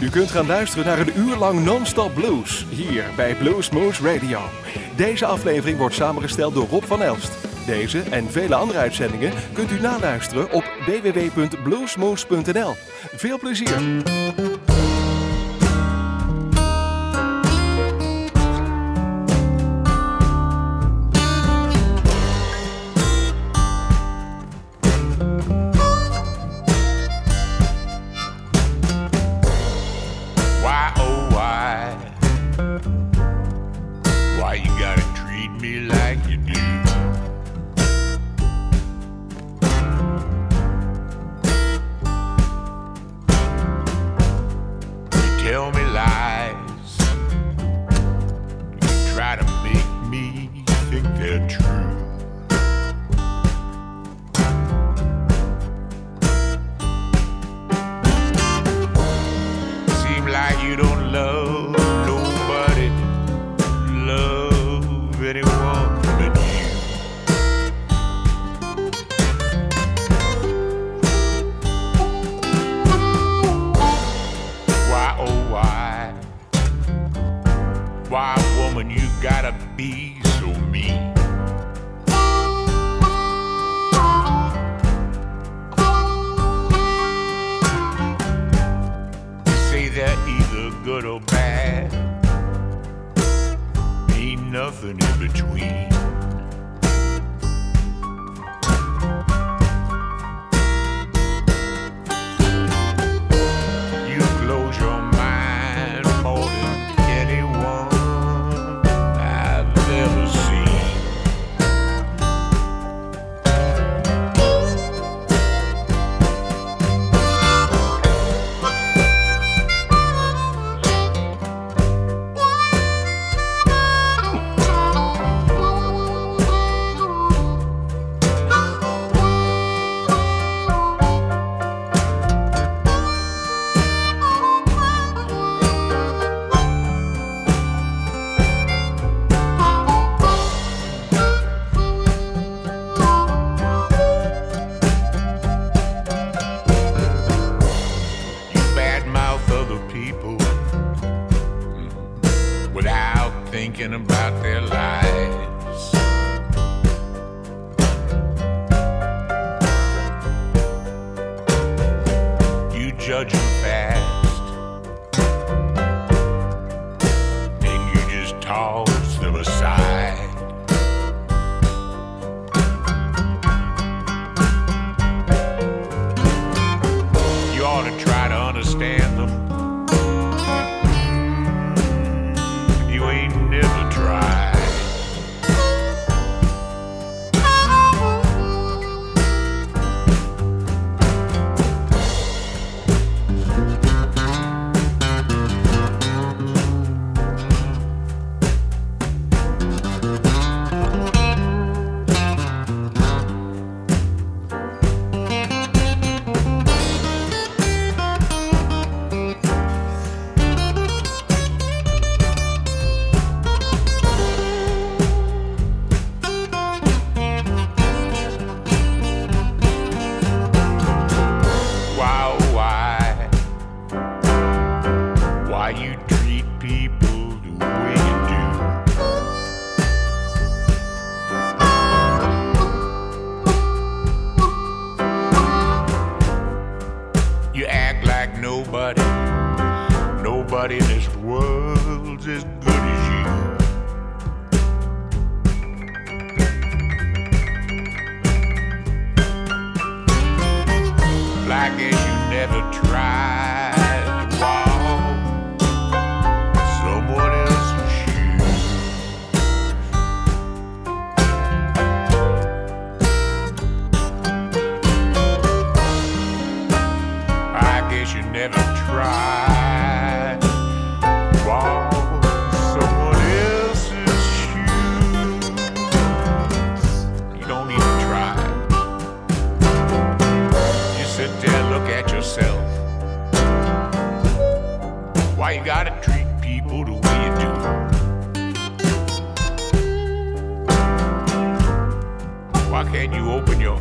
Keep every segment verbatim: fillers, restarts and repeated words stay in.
U kunt gaan luisteren naar een uur lang non-stop blues, hier bij Bluesmoose Radio. Deze aflevering wordt samengesteld door Rob van Elst. Deze en vele andere uitzendingen kunt u naluisteren op w w w punt bluesmoose punt n l. Veel plezier! Can you open your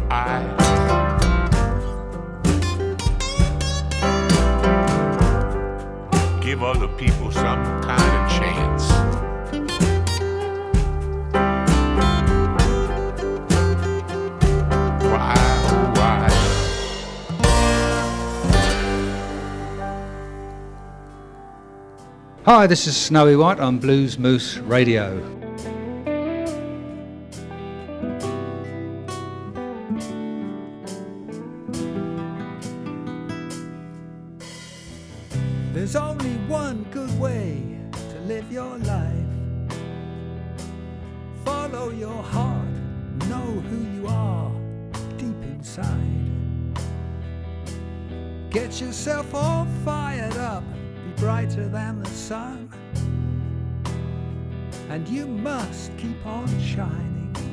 eyes? give other people some kind of chance. Why, oh why? Hi, this is Snowy White on Blues Moose Radio. There's only one good way to live your life. Follow your heart, know who you are deep inside. Get yourself all fired up, be brighter than the sun, and you must keep on shining.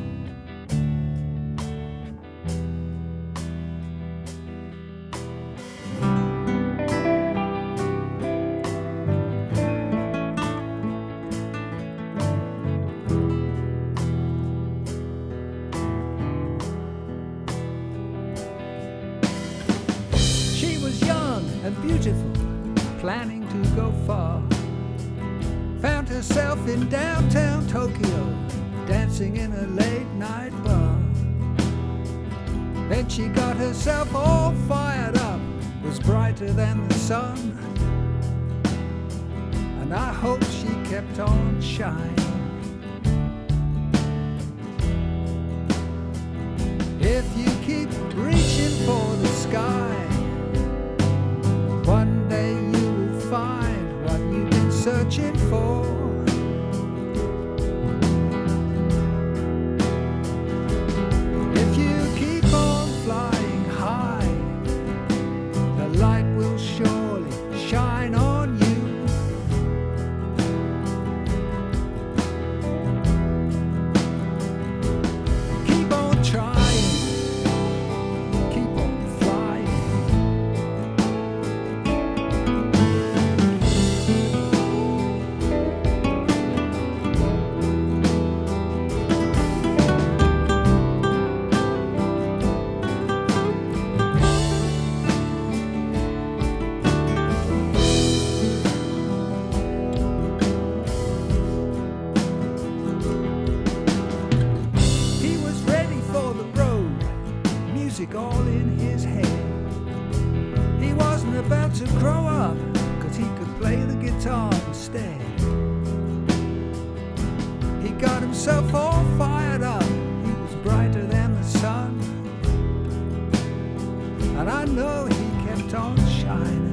Planning to go far, found herself in downtown Tokyo, dancing in a late night bar. Then she got herself all fired up, was brighter than the sun, and I hope she kept on shining. If you keep reaching for the sky, one day you will find what you've been searching for. If you keep on flying high, the light will surely shine on you. Keep on trying, keep on flying. All in his head. He wasn't about to grow up, cause he could play the guitar instead. He got himself all fired up, he was brighter than the sun, and I know he kept on shining.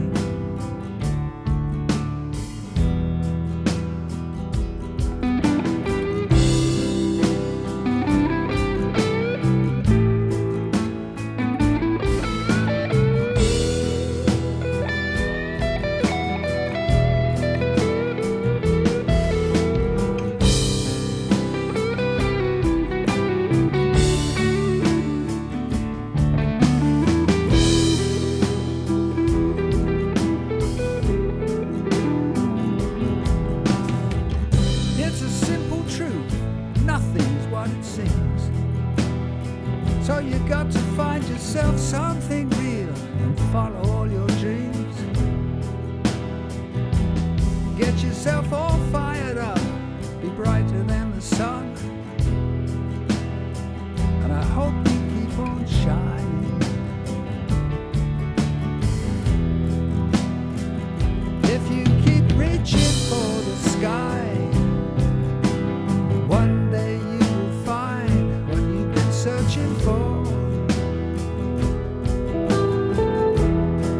So you got to find yourself something real and follow all your dreams. Get yourself all fired up, be brighter than the sun, and I hope you keep on shining. If you keep reaching for the sky, one day you will find what you've been searching for.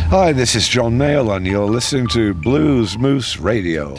Hi, this is John Mayall, and you're listening to Blues Moose Radio.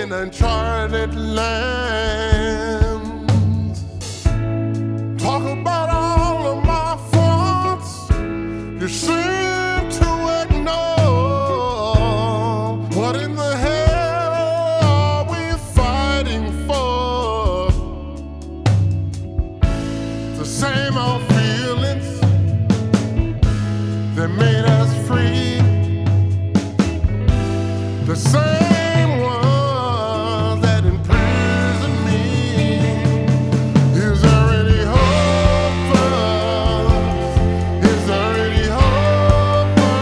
in uncharted lands. Talk about all of my faults. You seem to ignore. What in the hell are we fighting for? The same old feelings that made us free. The same ones that imprison me. Is there any hope for us? Is there any hope for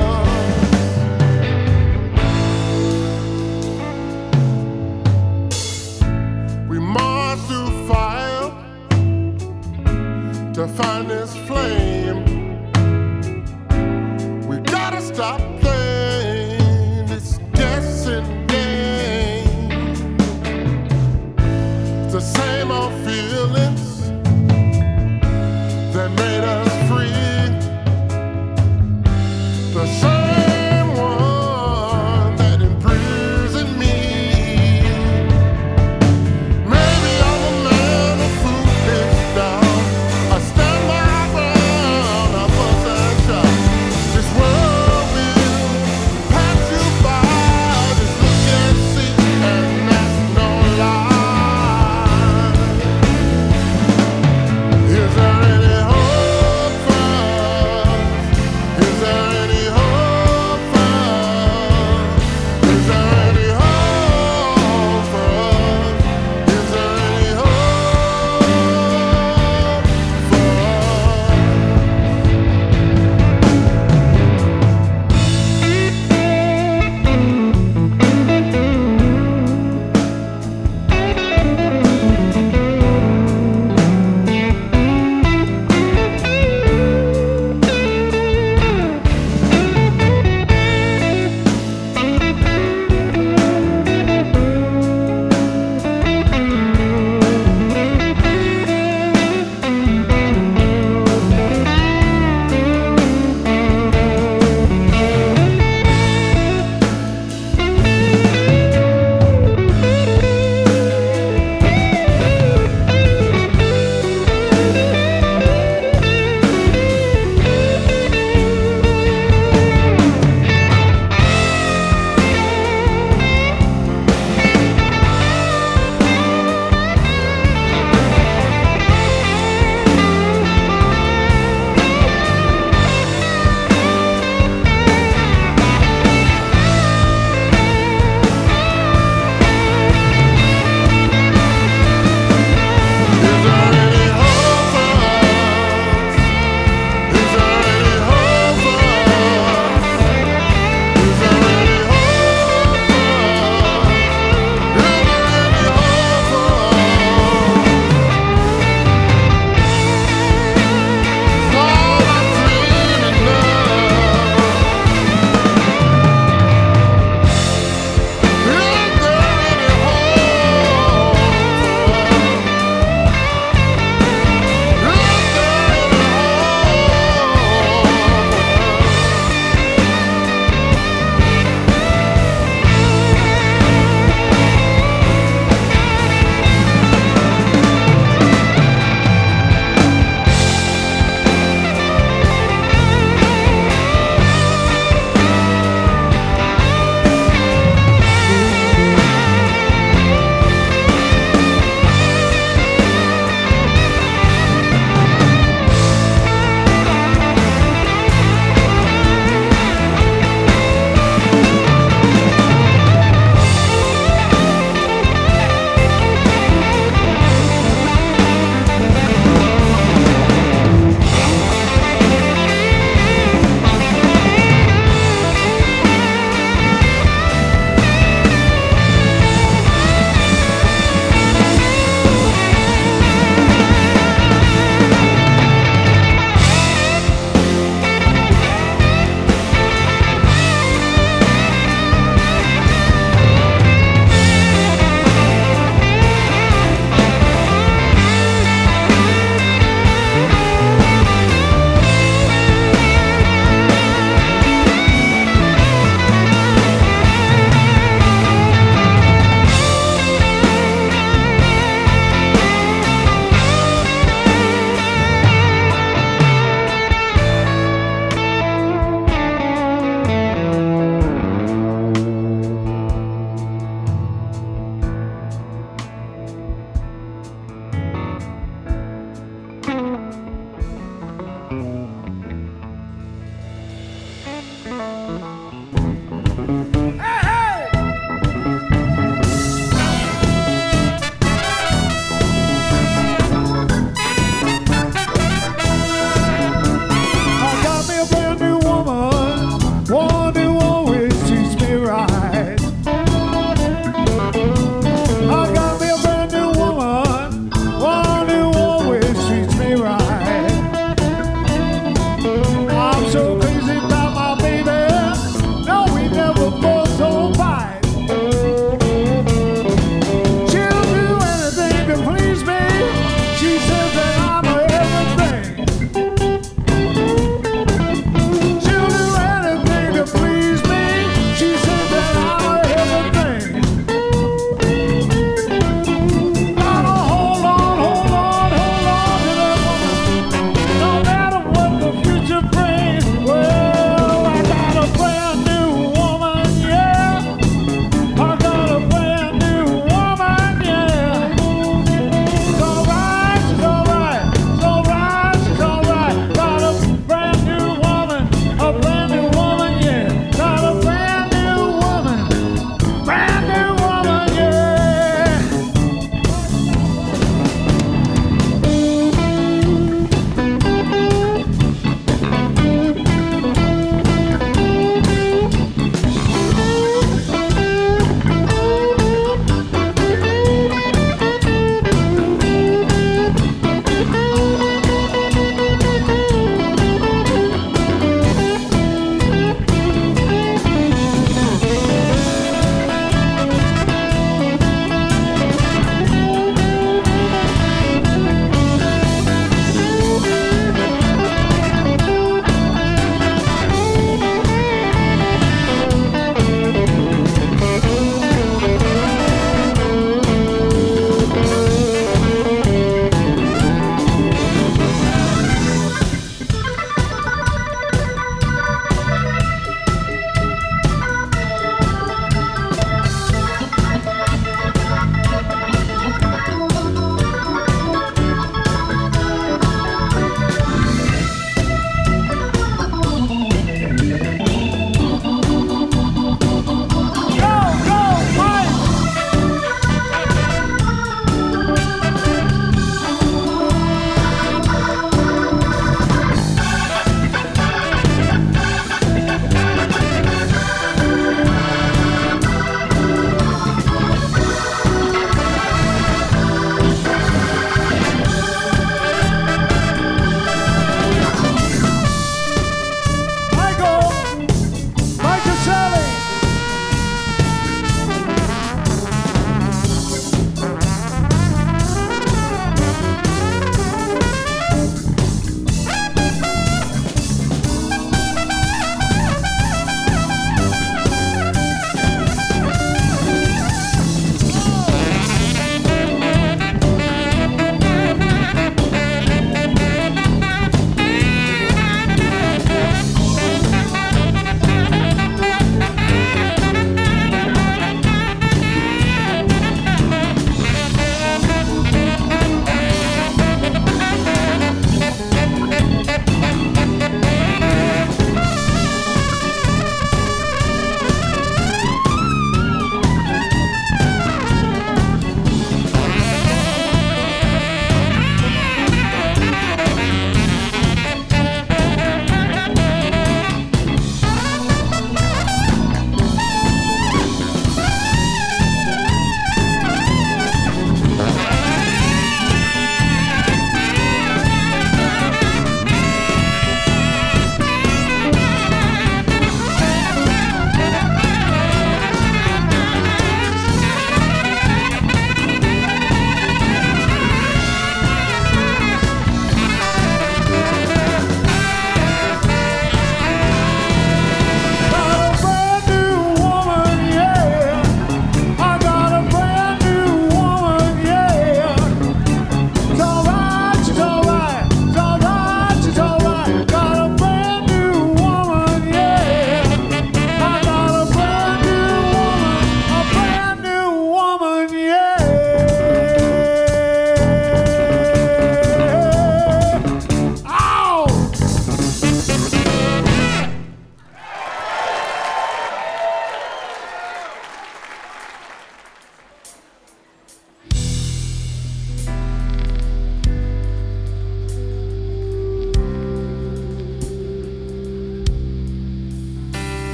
us? We march through fire to find this flame. We gotta stop playing this guessing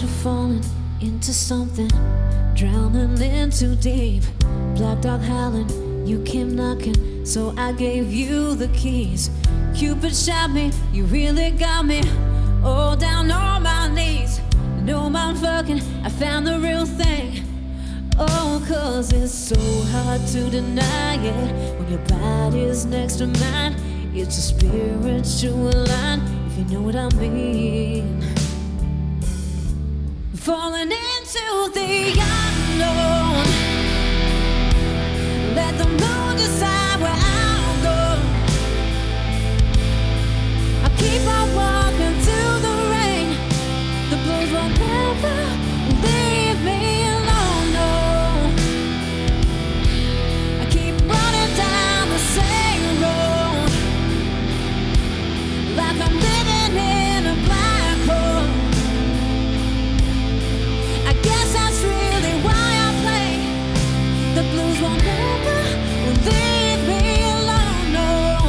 you're falling into something, drowning in too deep. Black dog howling, you came knocking, so I gave you the keys. Cupid shot me, you really got me. Oh, down on my knees. No mind fucking, I found the real thing. Oh, cause it's so hard to deny it when your body's next to mine. It's a spiritual line, if you know what I mean. Falling into the unknown. Let the moon decide where I'll go. I'll keep on walking through the rain. The blues will never leave me alone, no. I keep running down the same road, like I'm living in a black hole. I guess that's really why I play. The blues will never leave me alone, no.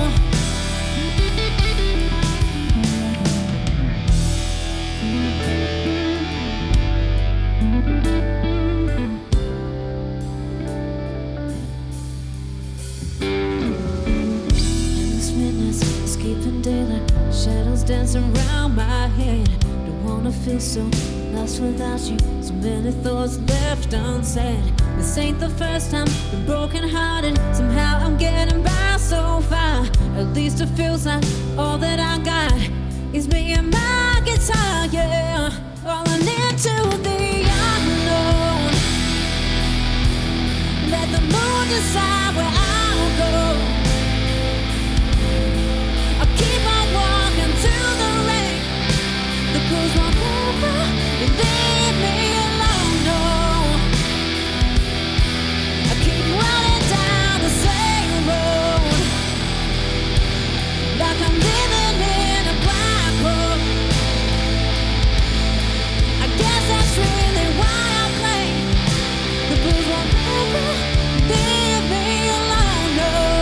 Endless midnights, escaping daylight, shadows dancing around my head. Don't wanna feel so lost without you. So many thoughts left unsaid. This ain't the first time been broken hearted. Somehow I'm getting by so far. At least it feels like all that I got is me and my guitar, yeah. Falling into the unknown. Let the moon decide where I'll go. I'll keep on walking through the rain. The blues won't never leave me alone, no. I keep running down the same road, like I'm living in a black hole. I guess that's really why I play. The blues won't never leave me alone, no.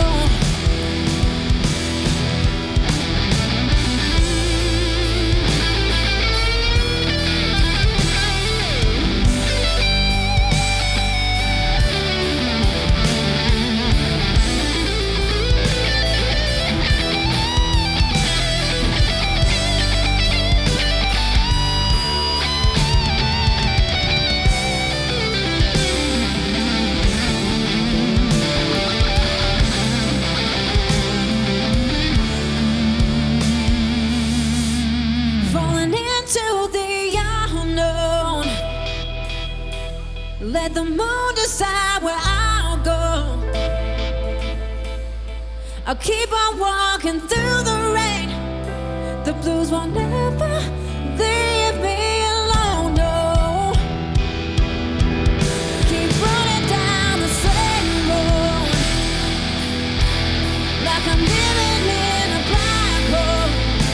Falling into the unknown. Let the moon decide where I'll go. I'll keep on walking through the rain. The blues won't never leave me alone, no. Keep running down the same road, like I'm living in a black hole.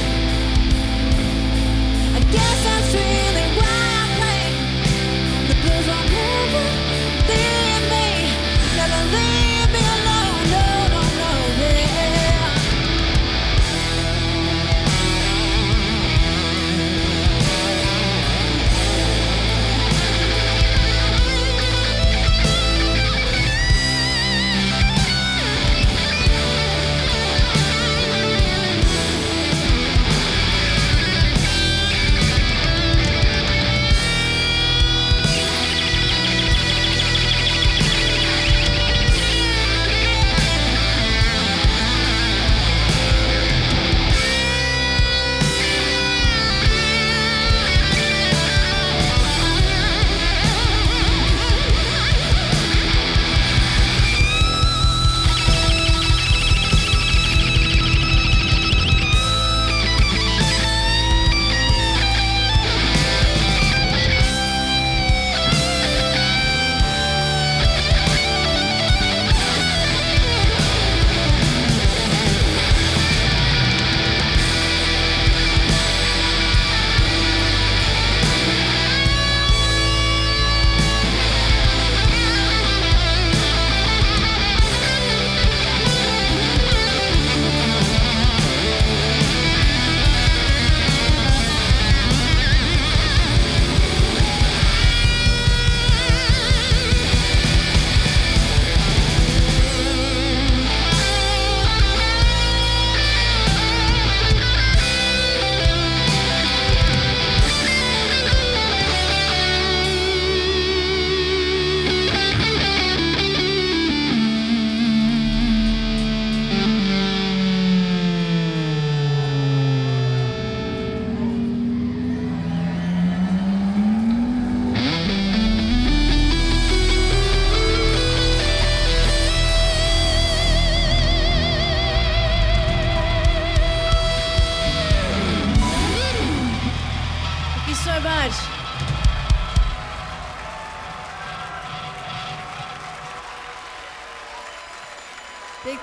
I guess that's really why I play. The blues won't never leave me, never leave me alone, no, no, no, yeah.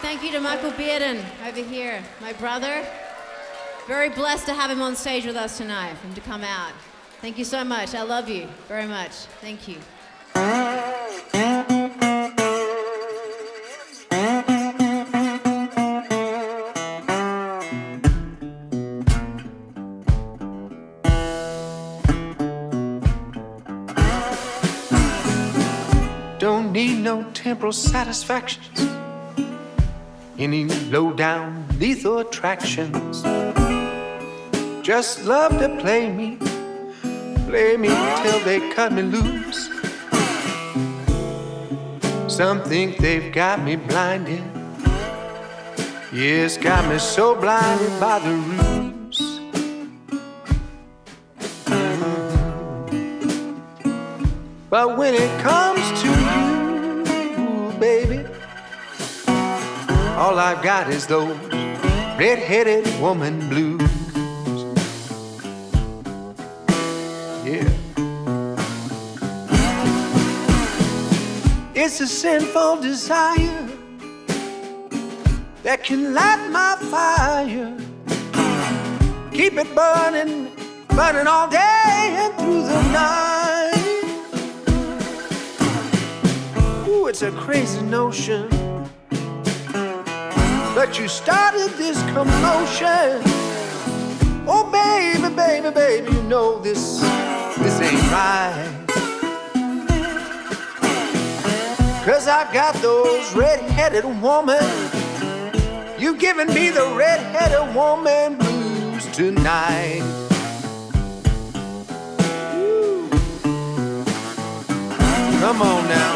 thank you to Michael Bearden over here, my brother. Very blessed to have him on stage with us tonight, for him to come out. Thank you so much. I love you very much. Thank you. Don't need no temporal satisfactions, any low-down lethal attractions. Just love to play me, play me till they cut me loose. Some think they've got me blinded, yes, got me so blinded by the ruse. But when it comes to you, baby, all I've got is those red-headed woman blues. Yeah. It's a sinful desire that can light my fire, keep it burning, burning all day and through the night. Ooh, it's a crazy notion, but you started this commotion. Oh, baby, baby, baby, you know this, this ain't right. 'Cause I've got those red-headed woman. You've given me the red-headed woman blues tonight. Ooh. Come on now.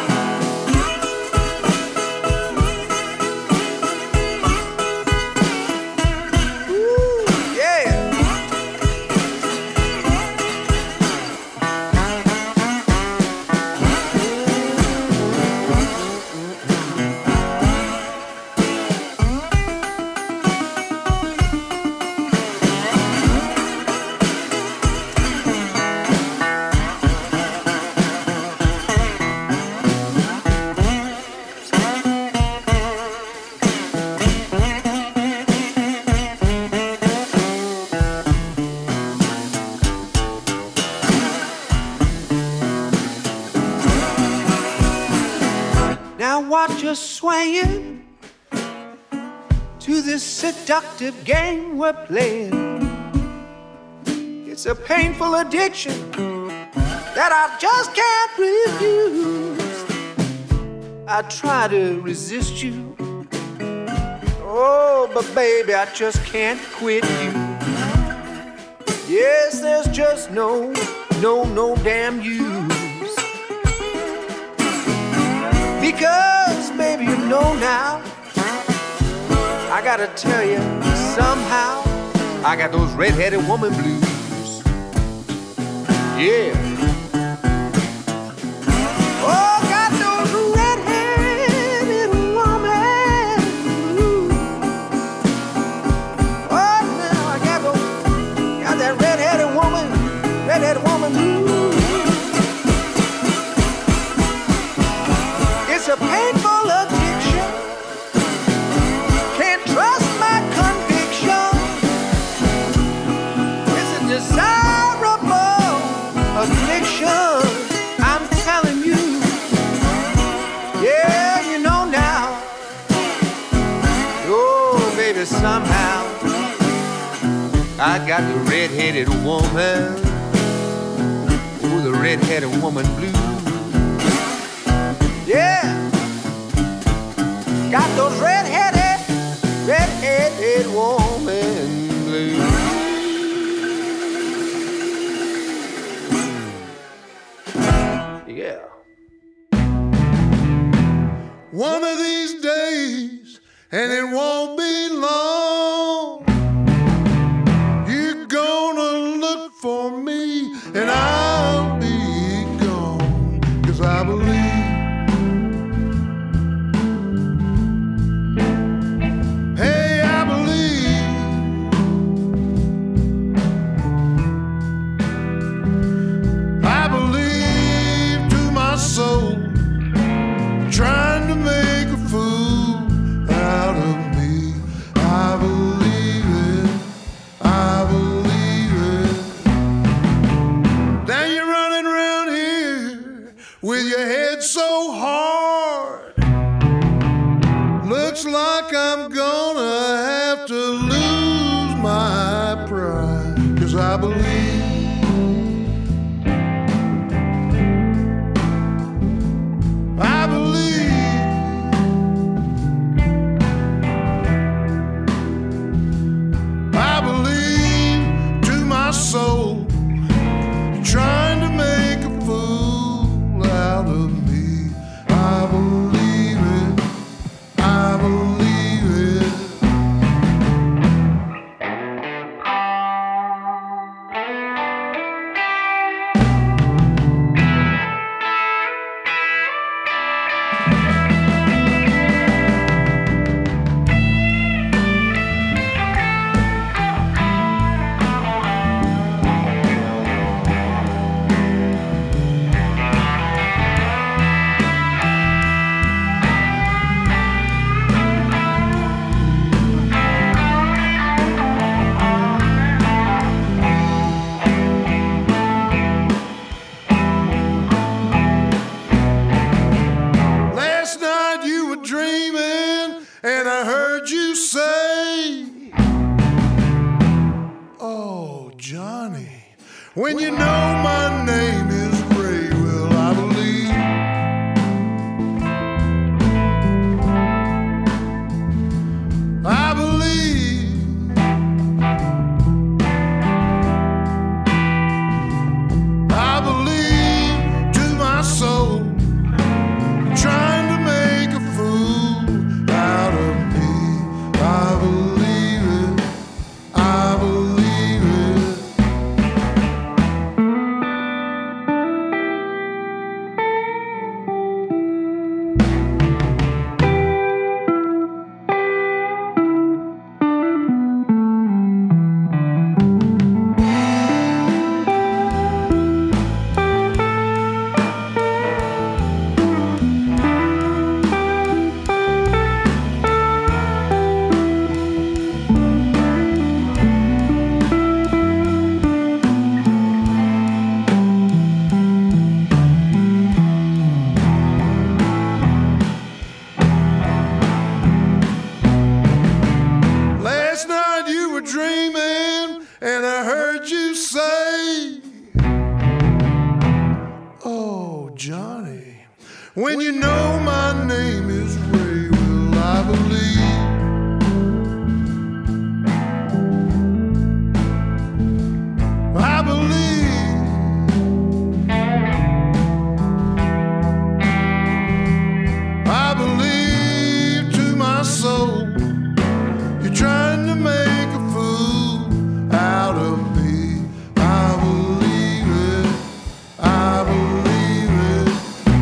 Swaying to this seductive game we're playing. It's a painful addiction that I just can't refuse. I try to resist you, oh, but baby, I just can't quit you. Yes, there's just no, no, no damn use. Because baby, you know now, I gotta tell you, somehow, I got those red-headed woman blues. Yeah. Oh, got those red-headed woman blues. Oh, now I got those, got that red-headed woman, red-headed woman blues. It's a painful addiction, can't trust my conviction. It's a desirable affliction, I'm telling you. Yeah, you know now. Oh, baby, somehow I got the red-headed woman. Oh, the red-headed woman blues. Yeah, got those red-headed, red-headed woman blues. Yeah. One of these days, and it won't be long, you're gonna look for me, and I'll be gone. 'Cause I believe soul, trying to make a fool out of with your head so hard. Looks like I'm gonna have to lose my pride, 'cause I believe I believe I believe to my soul you're trying to make a fool out of me. I believe it, I believe it. Last night you were dreaming and I heard you say, oh, Johnny, when you know my name is Ray, well, I believe I believe I believe to my soul trying to make a fool out of me. I believe it, I believe it. Last night you were dreaming and I heard you say, oh, Johnny, when you know my name is Ray, well, I believe I believe I believe to my soul you're trying to make a fool out of me. I believe it, I believe it.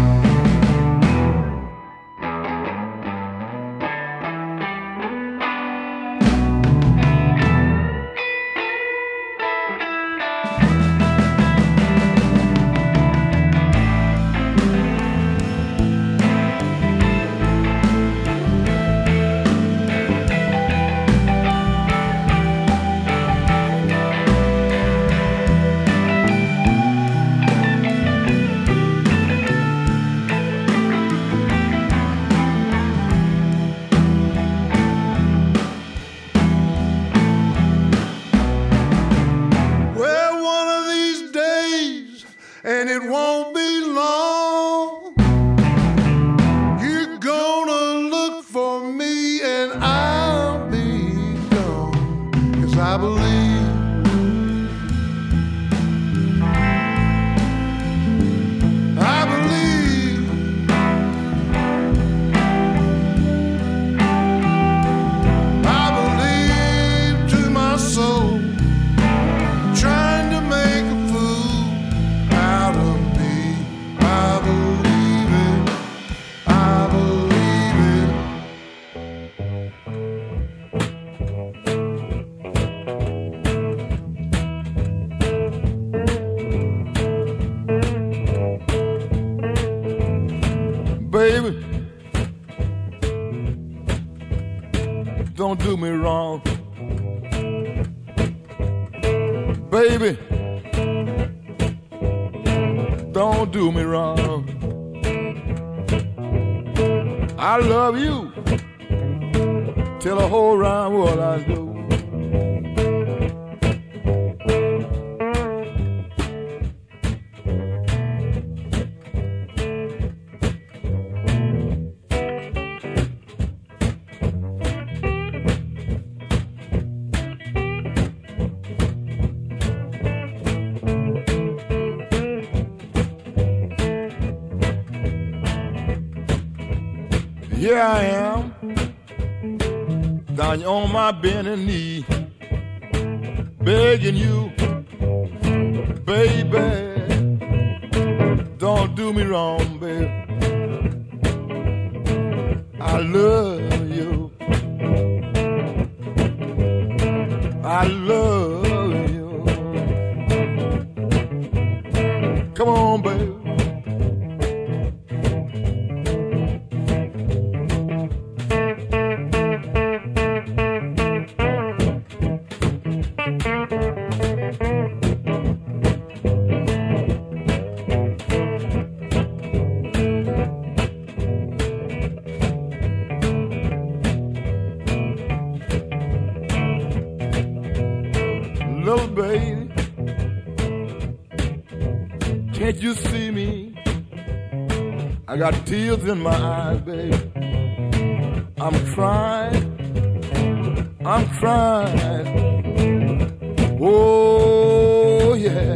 Well, one of these days, and it won't be long, you're gonna look for me and I'll be gone. 'Cause I believe I believe I believe to my soul trying to make a fool out of me. I believe it, I believe it. Baby, don't do me wrong. Baby, don't do me wrong. I love you. Tell the whole round world I do. Here I am, down on my bending knee, begging you, baby, don't do me wrong, baby. I love you, I love you. Come on, baby. Little baby, can't you see me? I got tears in my eyes, baby. I'm crying, I'm crying. Oh, yeah.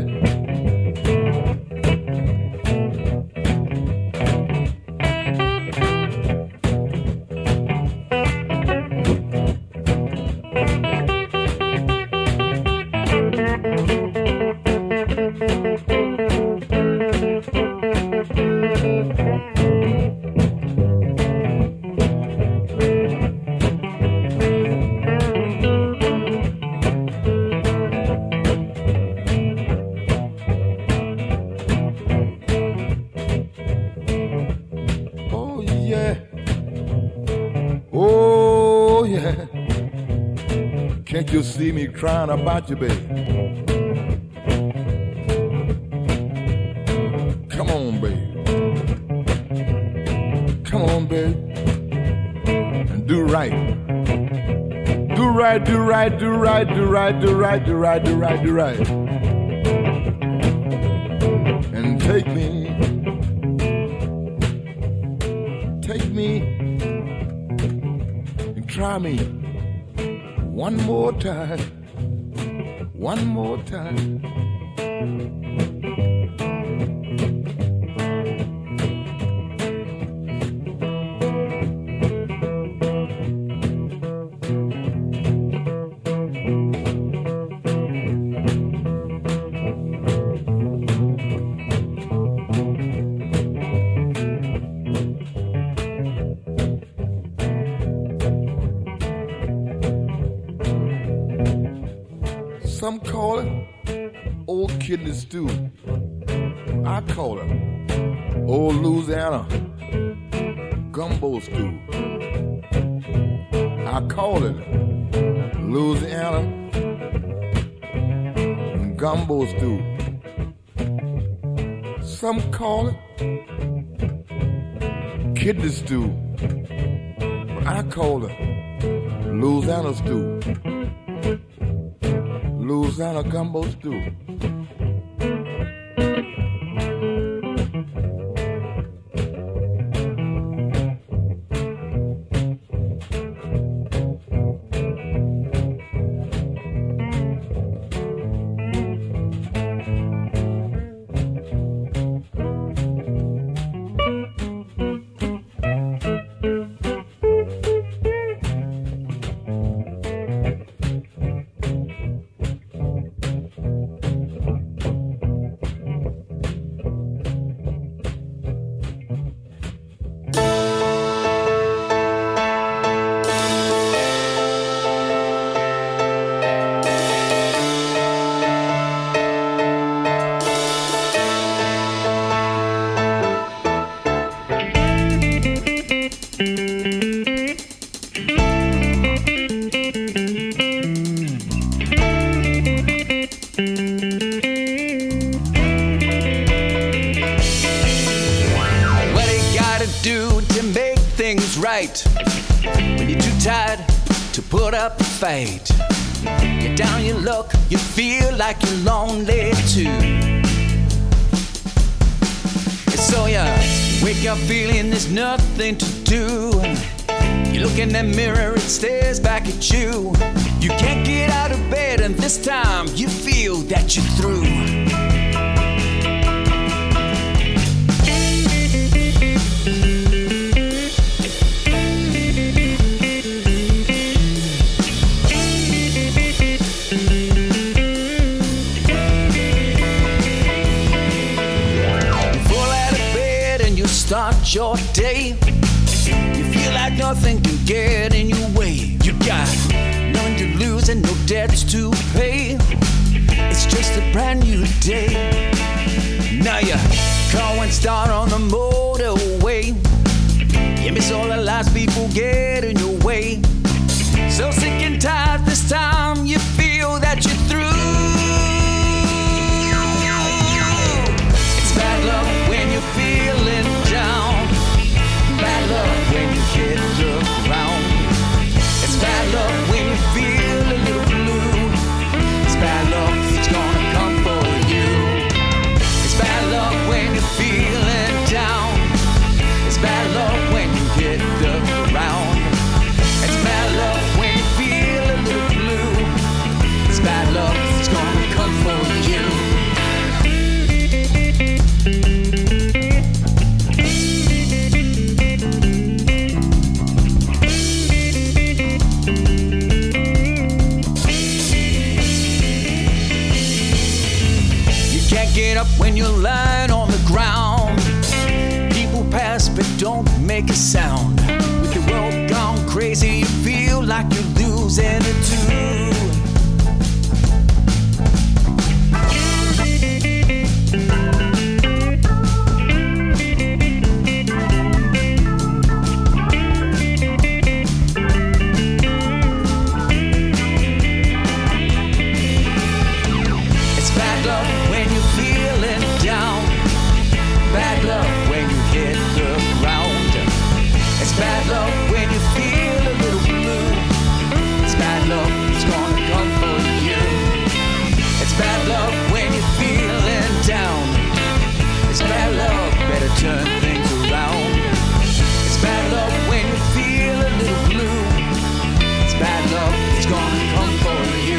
Can't you see me crying about you, baby? Come on, baby. Come on, baby. And do right. Do right, do right, do right, do right, do right, do right, do right, do right. And take me, take me, and try me. One more time, one more time. Some call it old kidney stew. I call it old Louisiana gumbo stew. I call it Louisiana gumbo stew. Some call it kidney stew, but I call it Louisiana stew. Louisiana gumbo stew. night when you're too tired to put up a fight. You're down your luck, you feel like you're lonely too. And so you wake up feeling there's nothing to do. You look in the mirror, it stares back at you. You can't get out of bed, and this time you feel that you're through. Start your day. You feel like nothing can get in your way. You got nothing to lose and no debts to pay. It's just a brand new day. Now you car won't start on the motorway. You miss all the lies people get in your way. So sick and tired this time you feel that you're through. It's bad luck when you're feeling down. Bad luck when you hit the ground. It's bad luck when you feel a little blue. It's bad luck, it's gonna come for you. It's bad luck when you're feeling down. It's bad luck when you hit the ground. It's bad luck when you feel a little blue. It's bad luck, it's gonna come for you. Get up when you're lying on the ground. People pass but don't make a sound. With the world gone crazy, you feel like you're losing it too. It's bad luck when you're feeling down. Bad luck when you hit the ground. It's bad luck when you feel a little blue. It's bad luck, it's gonna come for you. It's bad luck when you're feeling down. It's bad luck, better turn things around. It's bad luck when you feel a little blue. It's bad luck, it's gonna come for you.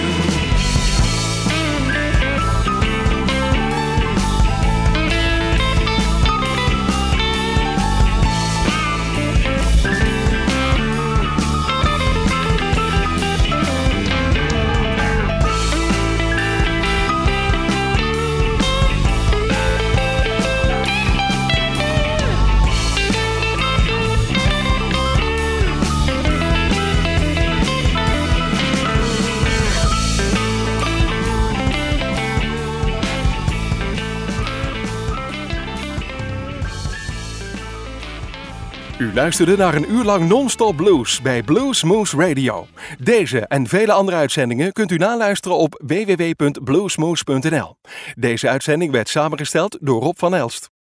U luisterde naar een uur lang non-stop blues bij Blues Moose Radio. Deze en vele andere uitzendingen kunt u naluisteren op w w w punt bluesmoose punt n l. Deze uitzending werd samengesteld door Rob van Elst.